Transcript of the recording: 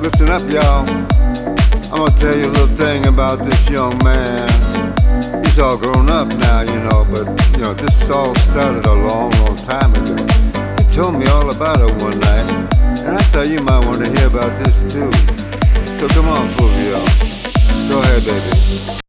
Listen up, y'all. I'm gonna tell you a little thing about this young man. He's all grown up now, but this all started a long, long time ago. He told me all about it one night, and I thought you might want to hear about this too. So come on, Fulvio. Go ahead, baby.